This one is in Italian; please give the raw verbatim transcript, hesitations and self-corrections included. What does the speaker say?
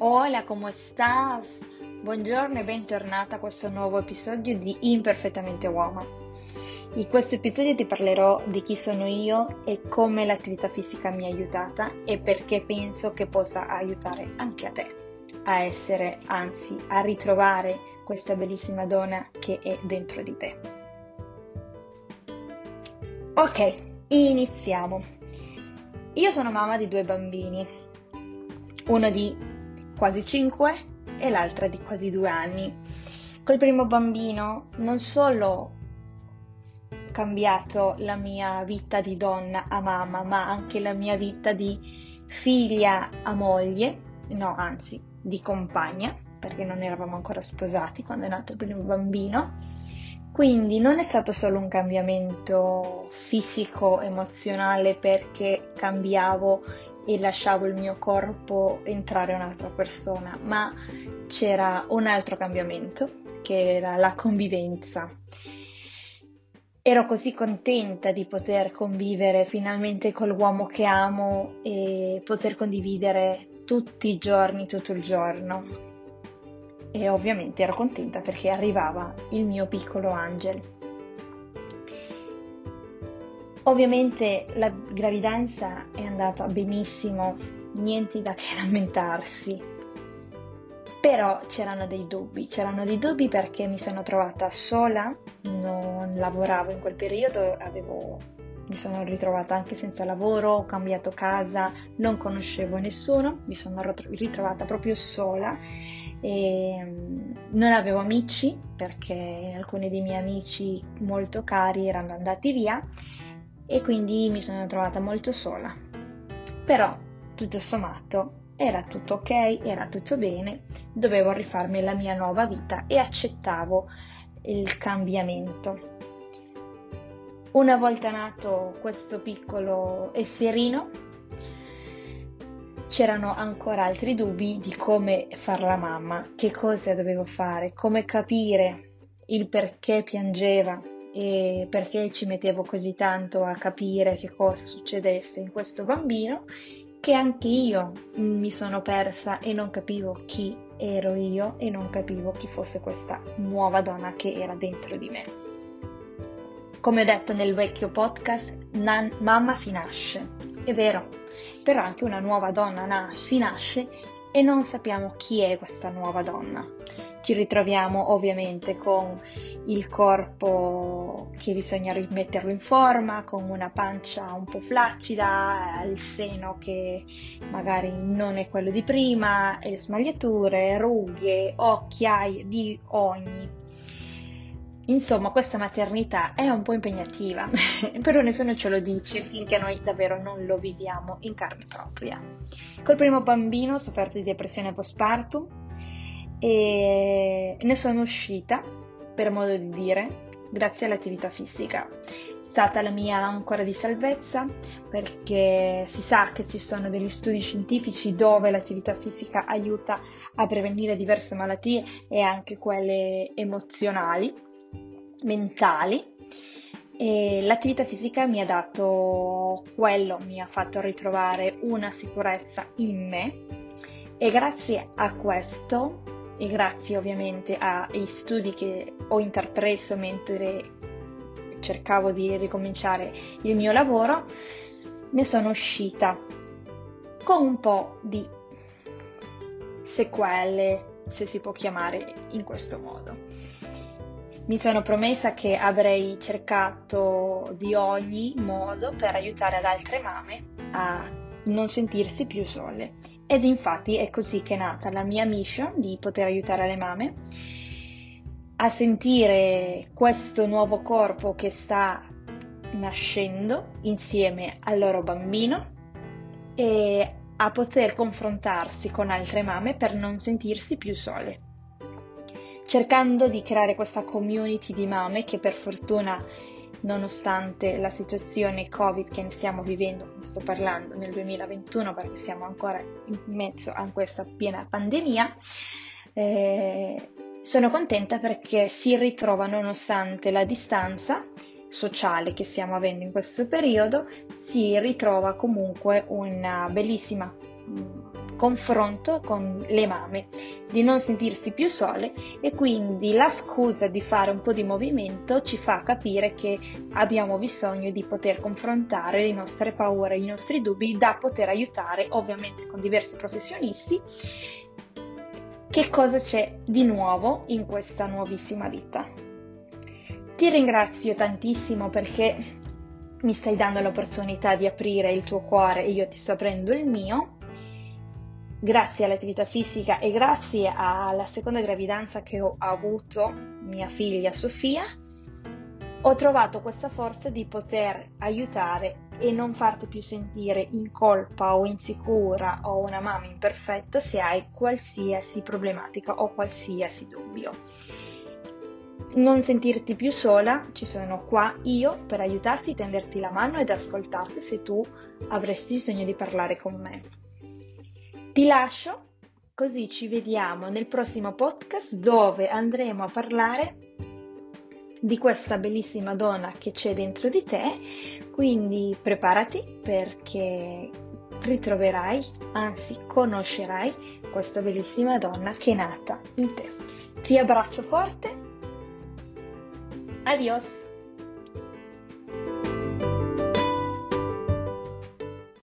Hola, come estás? Buongiorno e bentornata a questo nuovo episodio di Imperfettamente Uomo. In questo episodio ti parlerò di chi sono io e come l'attività fisica mi ha aiutata e perché penso che possa aiutare anche a te a essere, anzi, a ritrovare questa bellissima donna che è dentro di te. Ok, iniziamo. Io sono mamma di due bambini, uno di quasi cinque e l'altra di quasi due anni. Col primo bambino non solo ho cambiato la mia vita di donna a mamma, ma anche la mia vita di figlia a moglie, no, anzi, di compagna, perché non eravamo ancora sposati quando è nato il primo bambino. Quindi non è stato solo un cambiamento fisico, emozionale, perché cambiavo e lasciavo il mio corpo entrare un'altra persona, ma c'era un altro cambiamento, che era la convivenza. Ero così contenta di poter convivere finalmente con l'uomo che amo e poter condividere tutti i giorni, tutto il giorno. E ovviamente ero contenta perché arrivava il mio piccolo Angel. Ovviamente la gravidanza è andata benissimo, niente da che lamentarsi, però c'erano dei dubbi, c'erano dei dubbi perché mi sono trovata sola, non lavoravo in quel periodo, avevo, mi sono ritrovata anche senza lavoro, ho cambiato casa, non conoscevo nessuno, mi sono ritrovata proprio sola e non avevo amici perché alcuni dei miei amici molto cari erano andati via e quindi mi sono trovata molto sola. Però tutto sommato era tutto ok, era tutto bene, dovevo rifarmi la mia nuova vita e accettavo il cambiamento. Una volta nato questo piccolo esserino, c'erano ancora altri dubbi di come far la mamma, che cosa dovevo fare, come capire il perché piangeva e perché ci mettevo così tanto a capire che cosa succedesse in questo bambino, che anche io mi sono persa e non capivo chi ero io e non capivo chi fosse questa nuova donna che era dentro di me. Come ho detto nel vecchio podcast, nan- mamma si nasce, è vero, però anche una nuova donna nas- si nasce e non sappiamo chi è questa nuova donna. Ci ritroviamo ovviamente con il corpo che bisogna rimetterlo in forma, con una pancia un po' flaccida, il seno che magari non è quello di prima, e le smagliature, rughe, occhiaie di ogni. Insomma, questa maternità è un po' impegnativa, però nessuno ce lo dice finché noi davvero non lo viviamo in carne propria. Col primo bambino ho sofferto di depressione postpartum e ne sono uscita, per modo di dire, grazie all'attività fisica. È stata la mia ancora di salvezza perché si sa che ci sono degli studi scientifici dove l'attività fisica aiuta a prevenire diverse malattie e anche quelle emozionali, mentali, e l'attività fisica mi ha dato quello, mi ha fatto ritrovare una sicurezza in me e grazie a questo e grazie ovviamente ai studi che ho intrapreso mentre cercavo di ricominciare il mio lavoro, ne sono uscita con un po' di sequele, se si può chiamare in questo modo. Mi sono promessa che avrei cercato di ogni modo per aiutare ad altre mamme a non sentirsi più sole. Ed infatti è così che è nata la mia mission di poter aiutare le mamme a sentire questo nuovo corpo che sta nascendo insieme al loro bambino e a poter confrontarsi con altre mamme per non sentirsi più sole, cercando di creare questa community di mamme che per fortuna, nonostante la situazione Covid che stiamo vivendo, sto parlando nel duemilaventuno perché siamo ancora in mezzo a questa piena pandemia, eh, sono contenta perché si ritrova, nonostante la distanza sociale che stiamo avendo in questo periodo, si ritrova comunque una bellissima confronto con le mamme, di non sentirsi più sole, e quindi la scusa di fare un po' di movimento ci fa capire che abbiamo bisogno di poter confrontare le nostre paure, i nostri dubbi, da poter aiutare ovviamente con diversi professionisti che cosa c'è di nuovo in questa nuovissima vita. Ti ringrazio tantissimo perché mi stai dando l'opportunità di aprire il tuo cuore e io ti sto aprendo il mio. Grazie all'attività fisica e grazie alla seconda gravidanza che ho avuto mia figlia Sofia, ho trovato questa forza di poter aiutare e non farti più sentire in colpa o insicura o una mamma imperfetta se hai qualsiasi problematica o qualsiasi dubbio. Non sentirti più sola, ci sono qua io per aiutarti, tenderti la mano ed ascoltarti se tu avresti bisogno di parlare con me. Ti lascio, così ci vediamo nel prossimo podcast dove andremo a parlare di questa bellissima donna che c'è dentro di te, quindi preparati perché ritroverai, anzi conoscerai questa bellissima donna che è nata in te. Ti abbraccio forte, adios!